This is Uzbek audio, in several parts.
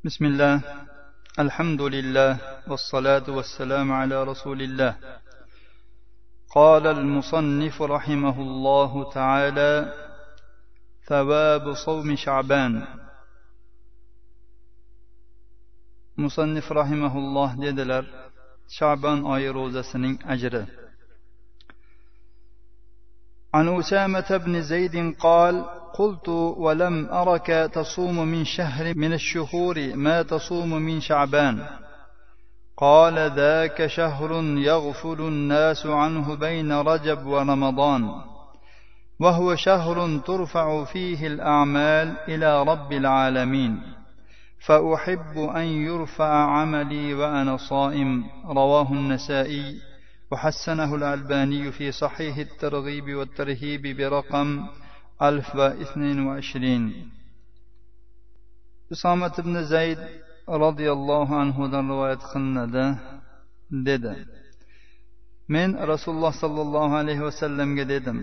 بسم الله الحمد لله والصلاة والسلام على رسول الله. قال المصنف رحمه الله تعالى: ثواب صوم شعبان. مصنف رحمه الله dediler, Şaban ayı rozasının أجره. عن أسامة بن زيد قال: قلت: ولم أرك تصوم من شهر من الشهور ما تصوم من شعبان. قال: ذاك شهر يغفل الناس عنه بين رجب ورمضان، وهو شهر ترفع فيه الأعمال إلى رب العالمين، فأحب أن يرفع عملي وأنا صائم. رواه النسائي وحسنه الألباني في صحيح الترغيب والترهيب برقم 1022. Usomat ibn Zayd radhiyallohu anhudan rivoyat qilinadi, dedi: Men Rasululloh sallallohu alayhi vasallamga dedim: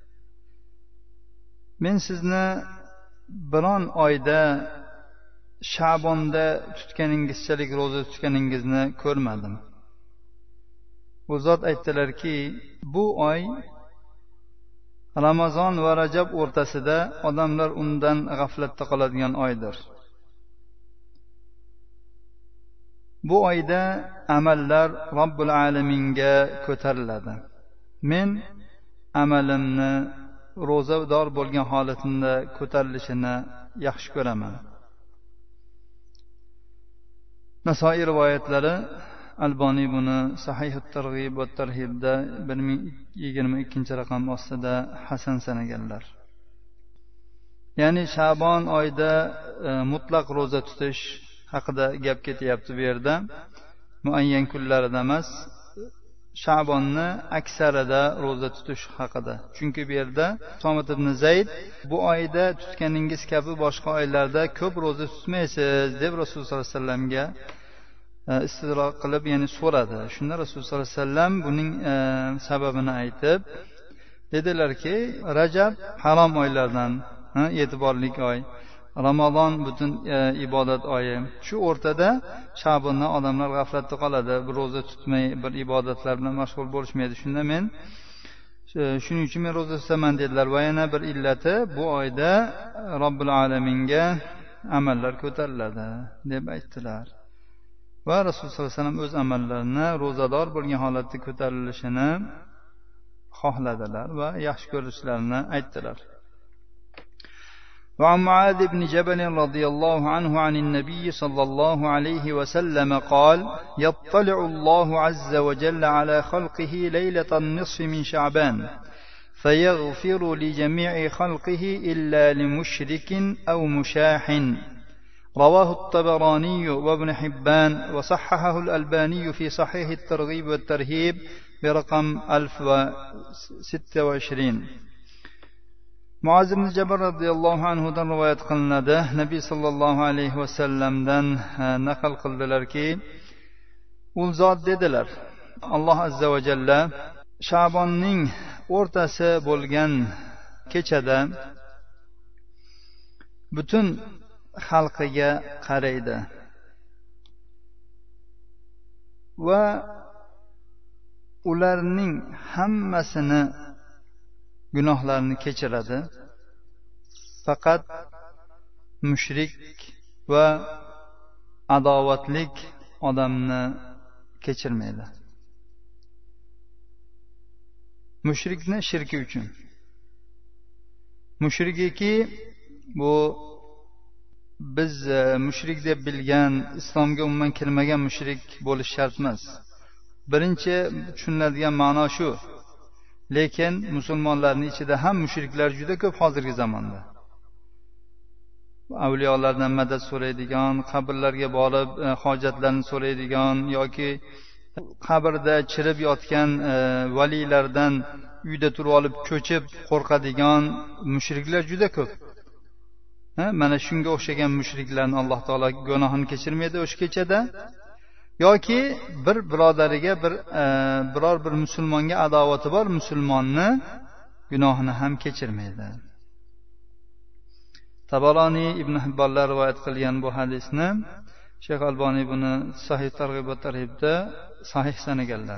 Men sizni biron oyda Sha'bonda tutganingizchalik roza tutganingizni ko'rmadim. Bu zot aytdilarki, bu oy Ramazon va Rajab o'rtasida odamlar undan g'aflatda qoladigan oydir. Bu oyda amallar Robbil alaminga ko'tariladi. Men amalimni ro'zador bo'lgan holatimda ko'tarilishini yaxshi ko'raman. Nasoiy rivoyatlari, Alboniy buni Sahih at-Targ'ib va at-Tarhibda 1022 raqam ostida hasan sanaganlar. Ya'ni Sha'bon oyida mutlaq roza tutish haqida gap ketyapti bu yerda. Muayyan kunlarida emas, Sha'bonni aksarida roza tutish haqida. Chunki bu yerda Usomat ibn Zayd bu oyda tutganingiz kabi boshqa oylarda ko'p roza tutmaysiz deb Rasululloh sollallohu alayhi vasallamga istidroq qilib, ya'ni so'radi. Shunda Rasululloh sollallohu alayhi vasallam buning sababini aytib dedilarki, Rajab harom oylardan, e'tiborli oy. Ramazon butun ibodat oyi. Shu o'rtada Sha'bonda odamlar g'aflatda qoladi, bir roza tutmay, bir ibodatlar bilan mashg'ul bo'lishmaydi. Shunda men shuning uchun men roza tutaman dedilar. Va yana bir illati, bu oyda Robbil alaminga amallar ko'tariladi deb aytdilar. Va Rasululloh sollallohu alayhi vasallam o'z amallarini ro'zador bo'lgan holatda ko'tarilishini xohladilar va yaxshi ko'rishlarini aytdilar. وعن معاذ بن جبل رضي الله عنه عن النبي صلى الله عليه وسلم قال: يطلع الله عز وجل على خلقه ليلة النصف من شعبان فيغفر لجميع خلقه إلا لمشرك أو مشاح. رواه الطبراني وابن حبان وصححه الألباني في صحيح الترغيب والترهيب برقم 1026. Muaz ibn Jabal radhiyallohu anhudan rivoyat qilinadi. Nabiy sallallohu alayhi vasallamdan naql qildilarki, u zot dedilar: Alloh azza va jalla Sha'bonning o'rtasi bo'lgan kechada butun xalqiga qaraydi va ularning hammasini gunohlarini kechiradi. Faqat mushrik va adovatlik odamni kechirmaydi. Mushrikni shirki uchun. Mushrikiki bu biz mushrik deb bilgan, islomga umuman kirmagan mushrik bo'lish shart emas. Birinchi tushuniladigan ma'no shu. Lekin musulmonlarning ichida ham mushriklar juda ko'p hozirgi zamonda. Avliyolardan madad so'raydigan, qabrlarga borib hojatlarni so'raydigan yoki qabrda chirib yotgan valilardan uyda turib olib cho'chib qo'rqadigan mushriklar juda ko'p. Mana shunga o'xshagan mushriklarni Alloh taolo gunohini kechirmaydi o'sha kechada. Yoki bir birodariga biror bir musulmonga adovati bor musulmonni gunohini ham kechirmaydi. Tabaroniy Ibn Hibbonlar rivoyat qilgan bu hadisni Shayx Alboniy buni Sahih targ'ib va tarhibda sahih sanaganlar.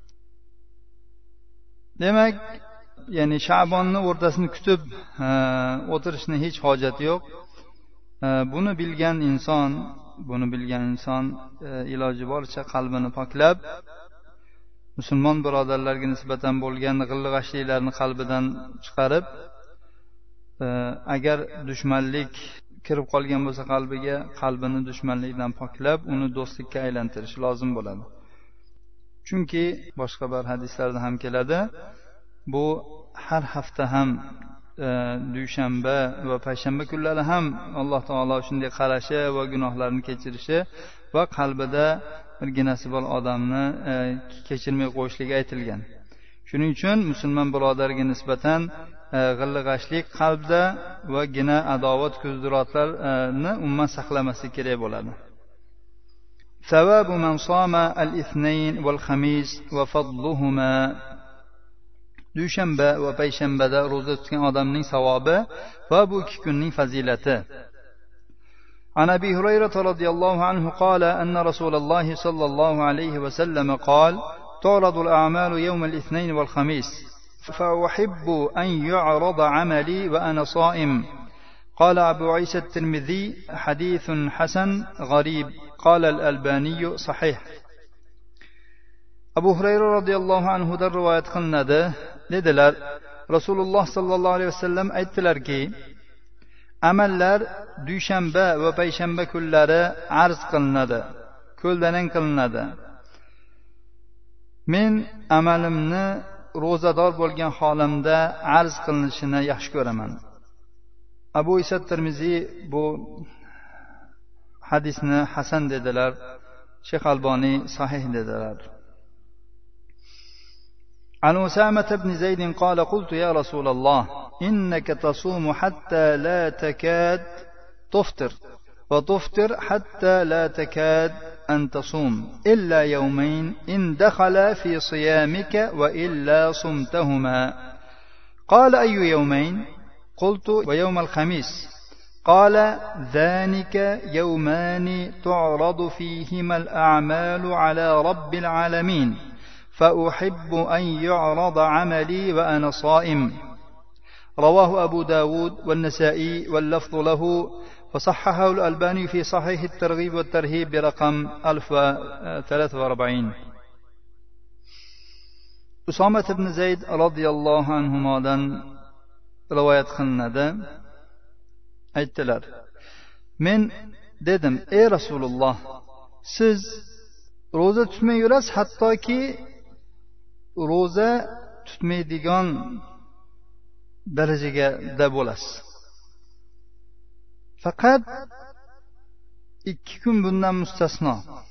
Demak, ya'ni Sha'bonni o'rtasini kutib o'tirishni hech hojati yo'q. Buni bilgan inson iloji boricha qalbini poklab, musulmon birodarlarga nisbatan bo'lgan g'ilg'ashliklarni qalbidan chiqarib, agar dushmanlik kirib qolgan bo'lsa qalbini dushmanlikdan poklab, uni do'stlikka aylantirish lozim bo'ladi. Chunki boshqa bir hadislarda ham keladi, bu har hafta ham dushanba va payshanba kunlari ham Alloh taolo shunday qarashi va gunohlarni kechirishi va qalbida birginasi bor odamni kechirmay qo'yishligi aytilgan. Shuning uchun musulmon birodarga nisbatan g'ilg'ashlik qalbda va gina adovat ko'zdirotlarni umuman saqlamaslik kerak bo'ladi. Savabu man sama al-ithnayn wal khamis va fadluhuma. Dushanba va payshanbada roza tutgan odamning savobi va bu ikki kunning fazilati. عن أبي هريرة رضي الله عنه قال أن رسول الله صلى الله عليه وسلم قال تعرض الأعمال يوم الاثنين والخميس فأحب أن يعرض عملي وأنا صائم. قال أبو عيسى الترمذي حديث حسن غريب. قال الألباني صحيح. أبو هريرة رضي الله عنه در رواية قلنا dedilar, Rasululloh sallallohu alayhi vasallam aytdilarki, amallar dushanba va payshanba kunlari arz qilinadi, ko'ldalang qilinadi. Men amalimni ro'zador bo'lgan holimda arz qilinishini yaxshi ko'raman. Abu Isa Tirmiziy bu hadisni hasan dedilar, Shayx Alboniy sahih dedilar. عن أسامة بن زيد قال قلت يا رسول الله إنك تصوم حتى لا تكاد تفطر وتفطر حتى لا تكاد أن تصوم إلا يومين إن دخل في صيامك وإلا صمتهما. قال أي يومين؟ قلت ويوم الخميس. قال ذلك يومان تعرض فيهما الأعمال على رب العالمين فأحب أن يعرض عملي وأنا صائم. رواه أبو داود والنسائي واللفظ له وصححه الألباني في صحيح الترغيب والترهيب برقم 1043. Usama ibn Zayd radhiyallohu anhudan rivoyat qilinadi. Aytdilar, men dedim, ey Rasululloh, siz roza tutmay yurasiz, hattoki roza tutmaydigan darajada bo'lasiz. Faqat 2 kun bundan mustasno.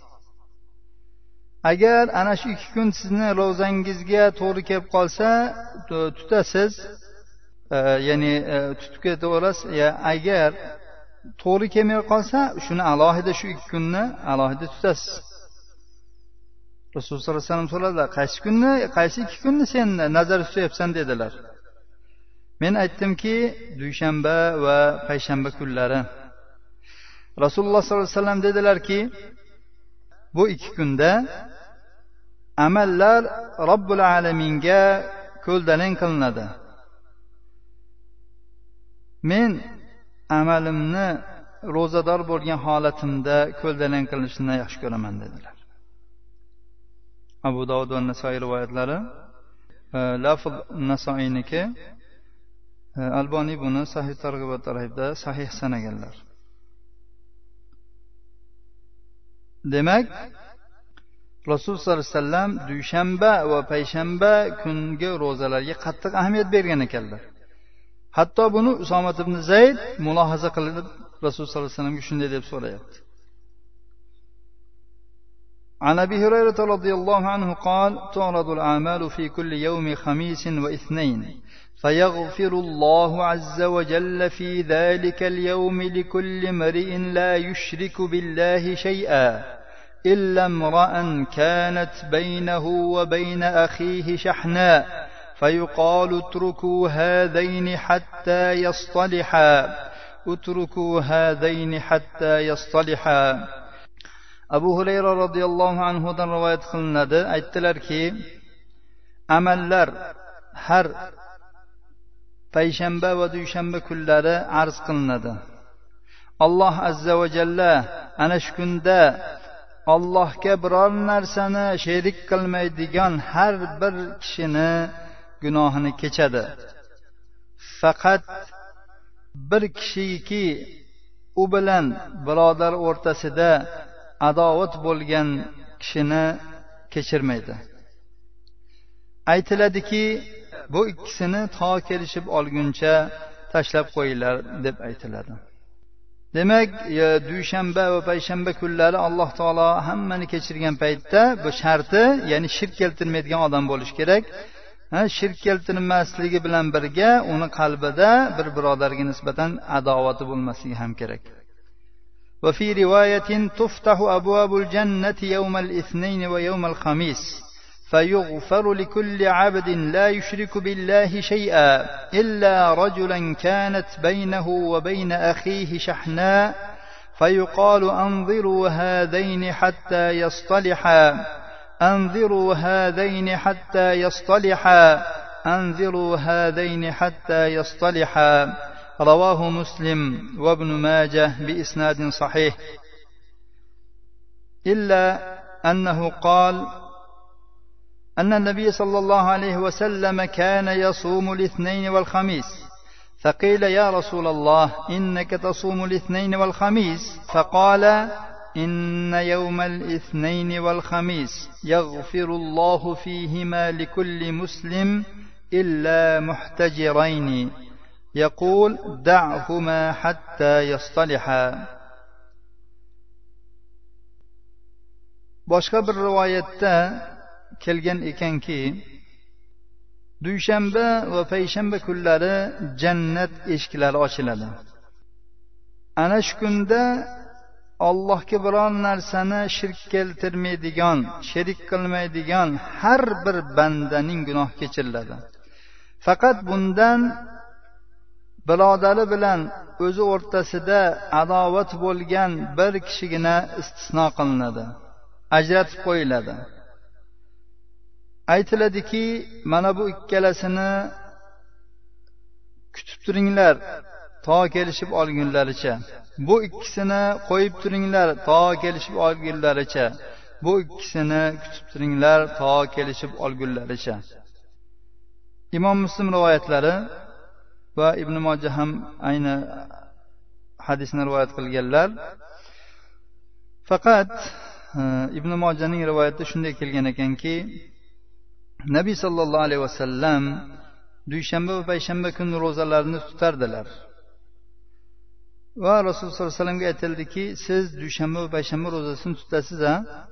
Agar ana shu 2 kun sizni ro'zangizga to'g'ri kelib qolsa, tutasiz, ya'ni tutib ketaverasiz. Agar to'g'ri kelmay qolsa, shuni alohida shu 2 kunni alohida tutasiz. Rasululloh sollallohu alayhi vasallam so'radilar, qaysi 2 kunni sen nazarda tutyapsan dedilar. Men aytdimki, dushanba va payshanba kunlari. Rasululloh sollallohu alayhi vasallam dedilarki, bu 2 kunda amallar Robbul alaminga ko'ldalang qilinadi. Men amalimni ro'zador bo'lgan holatimda ko'ldalang qilinishini yaxshi ko'raman dedilar. Abu Dovud va Nasoiy rivoyatlari, lafz Nasoiyniki, Alboniy buni Sahih targ'ib va tarhibda sahih sanaganlar. Demak, Rasululloh sollallohu alayhi vasallam dushanba va payshanba kungi ro'zalarga qattiq ahamiyat bergan ekanlar. Hatto buni Usama ibn Zayd mulohaza qilib Rasululloh sollallohu alayhi vasallamga shunday deb so'rayapti. عن أبي هريرة رضي الله عنه قال تعرض الأعمال في كل يوم خميس واثنين فيغفر الله عز وجل في ذلك اليوم لكل امرئ لا يشرك بالله شيئا إلا امرأ كانت بينه وبين أخيه شحناء فيقال اتركوا هذين حتى يصطلحا اتركوا هذين حتى يصطلحا. Abu Hurayra radhiyallohu anhu dan rivoyat qilinadi, aytdilarki, amallar har payshanba va dushanba kunlari arz qilinadi. Alloh azza va jalla ana shu kunda Allohga biror narsani sherik qilmaydigan har bir kishini gunohini kechadi. Faqat bir kishiki u bilan birodar o'rtasida adovat bo'lgan kishini kechirmaydi. Aytiladiki, bu ikkisini to kelishib olguncha tashlab qo'yinglar deb aytiladi. Demak, dushanba va payshanba kunlari Alloh taolo hammani kechirgan paytda bu sharti, ya'ni shirk keltirmaydigan odam bo'lish kerak. Shirk keltirmasligi bilan birga uni qalbida bir birodarga nisbatan adovati bo'lmasligi ham kerak. Va fi rivoyatin tuftahu abwabul jannati yawmal ithnayn va yawmal khamis فيغفر لكل عبد لا يشرك بالله شيئا إلا رجلا كانت بينه وبين أخيه شحناء فيقال أنظروا هذين حتى يصطلحا أنظروا هذين حتى يصطلحا أنظروا هذين حتى يصطلحا رواه مسلم وابن ماجه بإسناد صحيح إلا أنه قال أن النبي صلى الله عليه وسلم كان يصوم الاثنين والخميس فقيل يا رسول الله إنك تصوم الاثنين والخميس فقال إن يوم الاثنين والخميس يغفر الله فيهما لكل مسلم إلا محتجرين يقول دعهما حتى يصطلحا. boshqa bir rivoyatda kelgan ekanki, dushanba va payshanba kunlari jannat eshiklari ochiladi. Ana shu kunda Allohga biror narsani shirk keltirmaydigan, sherik qilmaydigan har bir bandaning gunohi kechiriladi. Faqat bundan birodari bilan o'zi o'rtasida adovat bo'lgan bir kishigina istisno qilinadi, ajratib qo'yiladi. Aytiladiki, mana bu ikkalasini kutib turinglar to kelishib olgunlaricha. Bu ikkisini qo'yib turinglar to kelishib olgunlaricha. Bu ikkisini kutib turinglar to kelishib olgunlaricha. Imom Muslim rivoyatlari va Ibn Mojah ham ayni hadisni rivoyat qilganlar. Faqat Ibn Mojahning rivoyatida shunday kelgan ekanki, Nabiy sallallohu alayhi vasallam dushanba va payshanba kun ro'zalarini tutardilar. Va Rasululloh sollallohu alayhi vasallamga aytildiki, siz dushanba va payshanba ro'zasini tutasiz-a?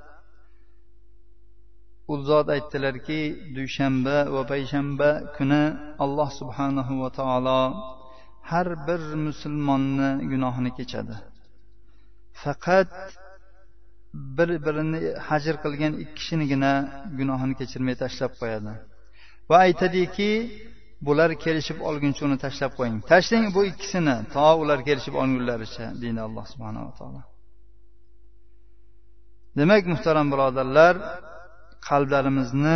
U zot aytdilarki, dushanba va payshanba kuni Alloh subhanahu va taolo har bir musulmonni gunohini kechadi. Faqat bir-birini hajr qilgan ikki kishinigina gunohini kechirmay tashlab qo'yadi. Va aytadiki, bular kelishib olguncha uni tashlab qo'ying. Tashlang bu ikkisini to ular kelishib olgunlaricha, deydi Alloh subhanahu va taolo. Demak, muhtaram birodarlar, qalblarimizni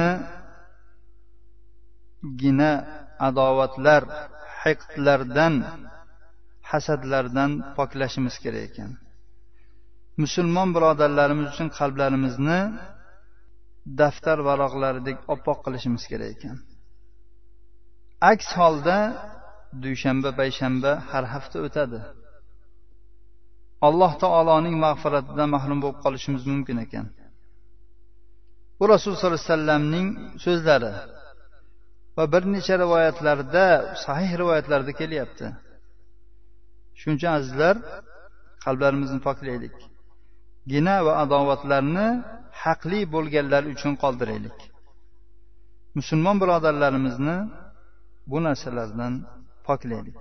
gina adovatlar, hiqdlardan, hasadlardan poklashimiz kerak ekan. Musulmon birodarlarimiz uchun qalblarimizni daftar varaqlaridek oppoq qilishimiz kerak ekan. Aks holda dushanba, payshanba har hafta o'tadi. Alloh taoloning mag'firatidan mahrum bo'lib qolishimiz mumkin ekan. Bu Rasululloh sollallohu alayhi vasallamning so'zlari va bir necha rivoyatlarda, sahih rivoyatlarda kelyapti. Shuning uchun azizlar, qalblarimizni poklaylik. Gina va adovatlarni haqli bo'lganlar uchun qoldiraylik. Musulmon birodarlarimizni bu narsalardan poklaylik.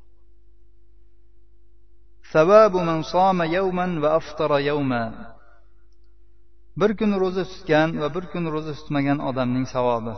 Savabu man soma yawman va aftara yawma. Bir kun roza tutgan va bir kun roza tutmagan odamning savobi.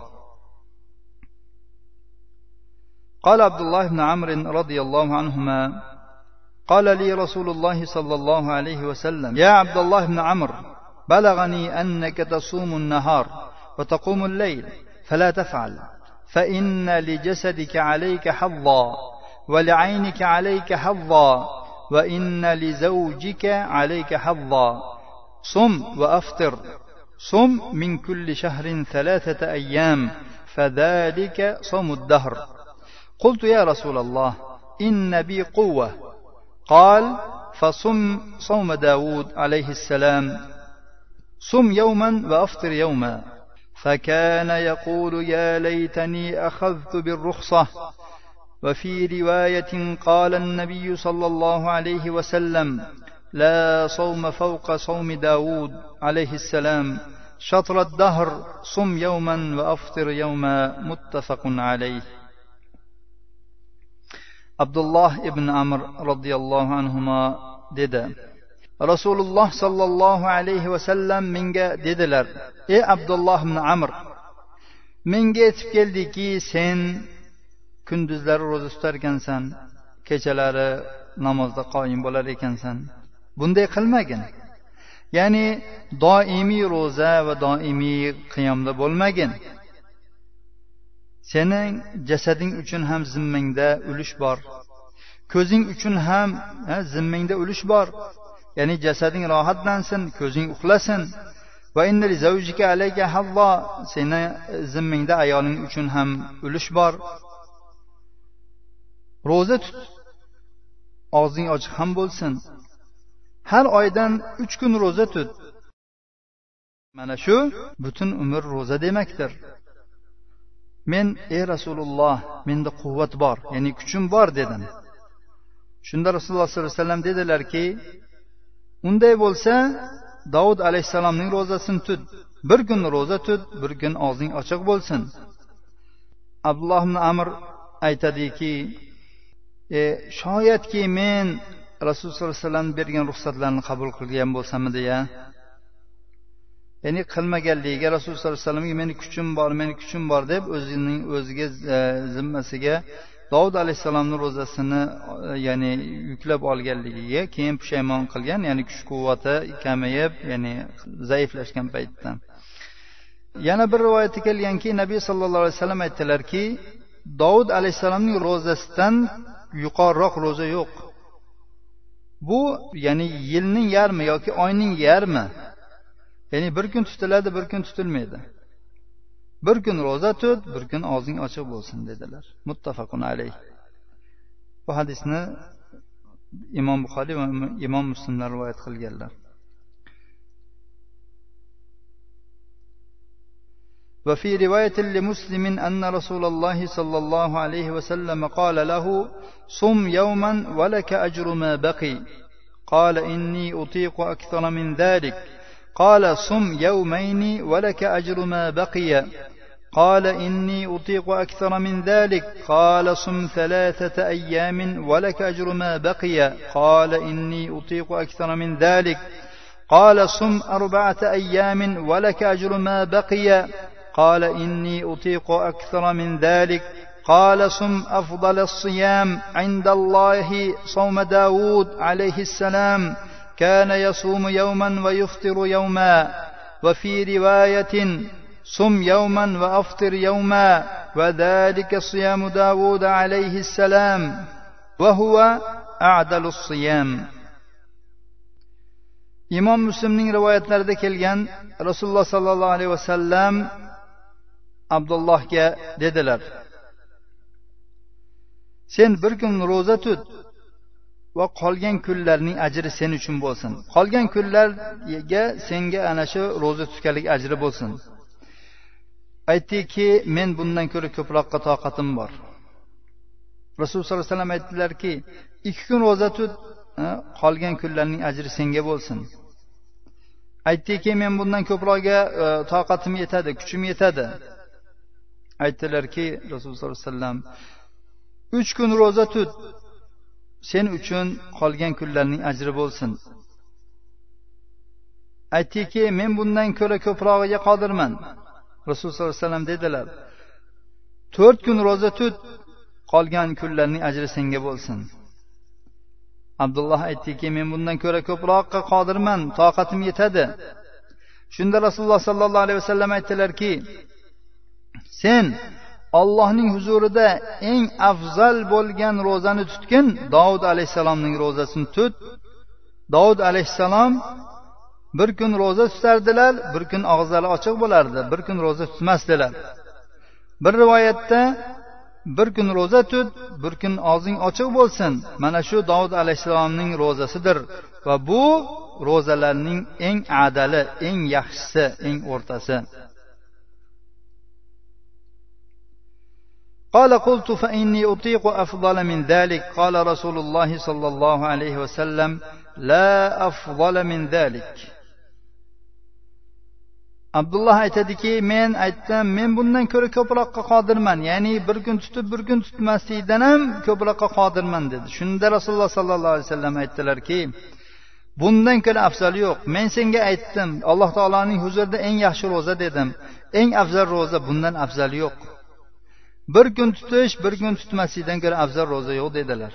قال عبد الله بن عمرو رضي الله عنهما قال لي رسول الله صلى الله عليه وسلم يا عبد الله بن عمرو بلغني أنك تصوم النهار وتقوم الليل فلا تفعل فإن لجسدك عليك حظا ولعينك عليك حظا وإن لزوجك عليك حظا صم وأفطر صم من كل شهر 3 أيام فذلك صوم الدهر قلت يا رسول الله إن بي قوة قال فصم صوم داود عليه السلام صم يوما وأفطر يوما فكان يقول يا ليتني أخذت بالرخصة وفي رواية قال النبي صلى الله عليه وسلم لا صوم فوق صوم داود عليه السلام شطر الدهر صم يوما وأفطر يوما متفق عليه. Abdullah ibn Amr radhiyallohu anhuma dedi, Rasululloh sallallohu alayhi vasallam menga dedilar: ey Abdullah ibn Amr, menga yetib keldiki sen kunduzlari ro'za tutar ekansan, kechalari namozda qoyim bo'lar ekansan. Bunday qilmagin. Ya'ni doimiy ro'za va doimiy qiyomda bo'lmagin. Sening jasading uchun ham zimmangda ulush bor. Ko'zing uchun ham zimmangda ulush bor. Ya'ni jasading rohatlansin, ko'zing uxlasin. Va inna li zawjika alayka hazza, seni zimmangda ayoling uchun ham ulush bor. Ro'za tut. Og'zing ochiq ham bo'lsin. Har oydan 3 kun ro'za tut. Mana shu butun umr ro'za demakdir. Men ey Rasululloh, menda quvvat bor, ya'ni kuchim bor dedim. Shunda Rasululloh sollallohu alayhi vasallam dedilarki, unday bo'lsa, Davud alayhisalomning ro'zasini tut. Bir kun ro'za tut, bir kun og'zing ochiq bo'lsin. Abdulloh ibn Amr aytadiki, shoyatki men Rasululloh sollallohu alayhi vasallam bergan ruxsatlarni qabul qilgan bo'lsamdi ya. Ya'ni qilmaganligiga Rasululloh sollallohu alayhi vasallamga meni kuchim bor deb o'ziga zimmasiga Davud alayhisalomning ro'zasini ya'ni yuklab olganligiga keyin pushaymon qilgan, ya'ni kuch-quvvati kamayib, ya'ni zaiflashgan paytda. Yana bir rivoyatda kelganki, Nabiy sallallohu alayhi vasallam aytdilarki, Davud alayhisalomning ro'zasidan yuqoriroq ro'za yo'q. Bu ya'ni yilning yarmi yoki oyning yarmi. Ya'ni bir kun tutiladi, bir kun tutilmaydi. Bir kun ro'za tut, bir kun og'zing ochiq bo'lsin dedilar. Muttafaqun alayh. Bu hadisni Imom Buxoriy va Imom Muslimlar rivoyat qilganlar. وفي رواية لمسلم أن رسول الله صلى الله عليه وسلم قال له صم يوما ولك أجر ما بقي قال إني أطيق أكثر من ذلك قال صم يومين ولك أجر ما بقي قال إني أطيق أكثر من ذلك قال صم 3 أيام ولك أجر ما بقي قال إني أطيق أكثر من ذلك قال صم 4 أيام ولك أجر ما بقي قال إني أطيق أكثر من ذلك قال صم أفضل الصيام عند الله صوم داود عليه السلام كان يصوم يوما ويفطر يوما وفي رواية صم يوما وأفطر يوما وذلك صيام داود عليه السلام وهو أعدل الصيام. Imom Muslimning rivoyatlarida kelgan Rasululloh sallallohu alayhi vasallam Abdullohga dedilar: sen bir kun ro'za tut va qolgan kunlarning ajri sen uchun bo'lsin. Qolgan kunlarga senga ana shu ro'za tutganlik ajri bo'lsin. Aytdiki, men bundan ko'ra ko'proqqa toqatim bor. Rasululloh sollallohu alayhi vasallam aytdilarki, 2 kun ro'za tut, qolgan kunlarning ajri senga bo'lsin. Aytdiki, men bundan ko'proqga toqatim yetadi, kuchim yetadi. Aytdilarki, Rasululloh sollallohu alayhi vasallam 3 kun ro'za tut, sen uchun qolgan kunlarning ajri bo'lsin. Aytdiki, men bundan ko'ra ko'prog'iga qodirman. Rasululloh sollallohu alayhi vasallam dedilar: 4 kun ro'za tut, qolgan kunlarning ajri senga bo'lsin. Abdulloh aytdiki, men bundan ko'ra ko'proqqa qodirman, toqatim yetadi. Shunda Rasululloh sallallohu alayhi vasallam aytdilarki, sen Allohning huzurida eng afzal bo'lgan ro'zani tutgin, Davud alayhisalomning ro'zasini tut. Davud alayhisalom bir kun ro'za tutardilar, bir kun og'izlari ochiq bo'lardi, bir kun ro'za tutmasdilar. Bir rivoyatda bir kun ro'za tut, bir kun og'zing ochiq bo'lsin. Mana shu Davud alayhisalomning ro'zasidir va bu ro'zalarning eng adali, eng yaxshisi, eng o'rtasi. قال قلت فإني أطيق أفضل من ذلك قال رسول الله صلى الله عليه وسلم لا أفضل من ذلك. Abdullah aytadiki, men aytdim, men bundan ko'ra ko'proqqa qodirman, ya'ni bir kun tutib bir kun tutmaslikdan ham ko'proqqa qodirman dedi. Shunda Rasululloh sallallohu alayhi vasallam aytdilarki, bundan ko'ra afzali yo'q. Men senga aytdim, Alloh taolaning huzurida eng yaxshi ro'za dedim. Eng afzal ro'za bundan afzali yo'q. Bir kun tutish, bir kun tutmaslikdan ko'ra afzal ro'za yo'q dedilar.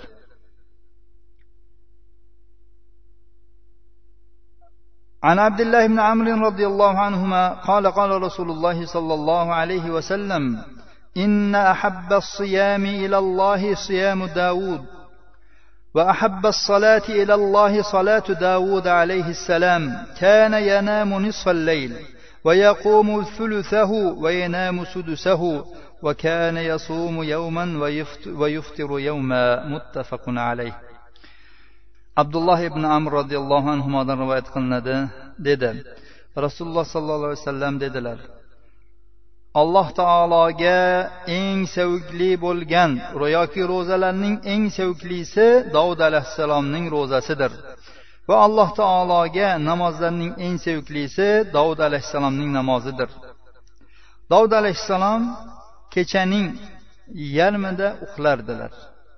عن عبد الله بن عمرو رضي الله عنهما قال قال رسول الله صلى الله عليه وسلم إن أحب الصيام إلى الله صيام داود وأحب الصلاة إلى الله صلاة داود عليه السلام كان ينام نصف الليل ويقوم ثلثه وينام سدسه وكان يصوم يوما ويفطر يوما متفق عليه. Abdullah ibn Amr radhiyallohu anhudan rivoyat qilinadi, dedi. Rasululloh sallallohu alayhi vasallam dedilar: Alloh taologa eng sevgli bo'lgan yoki ro'zalarning eng sevglisi Davud alayhisalomning ro'zasidir. Va Alloh taologa namozlarning eng sevglisi Davud alayhisalomning namozidir. Davud alayhisalom kechaning yarmida uxlardilar.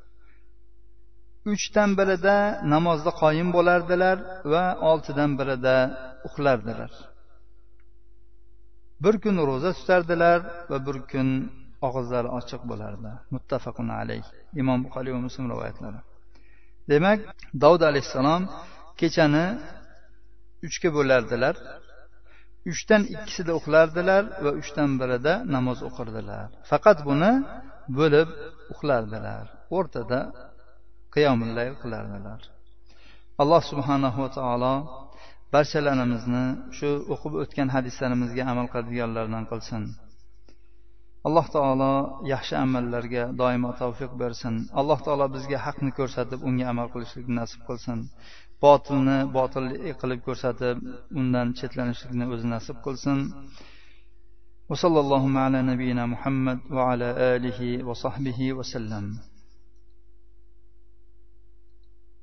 3dan birida namozda qoyim bo'lardilar va 6dan birida uxlardilar. Bir kun ro'za tutardilar va bir kun og'izlari ochiq bo'lardi. Muttafaqun alayh. Imom Buxoriy va Muslim rivoyatlari. Demak, Davud alayhisalom kechani 3ga bo'lardilar. 3dan 2sida uxlardilar va 3dan birida namoz o'qirdilar. Faqat buni bo'lib uxlardilar. O'rtada qiyomul layl qilardilar. Alloh subhanahu va taolo barchalarimizni shu o'qib o'tgan hadislarimizga amal qiladiganlardan qilsin. Alloh taolo yaxshi amallarga doimo tavfiq bersin. Alloh taolo bizga haqni ko'rsatib, unga amal qilishlikni nasib qilsin. Botilni botil qilib ko'rsatib, undan chetlanishlikni o'zi nasib qilsin. Va sallallohu ala nabiyyina Muhammad va ala alihi va sahbihi va sallam.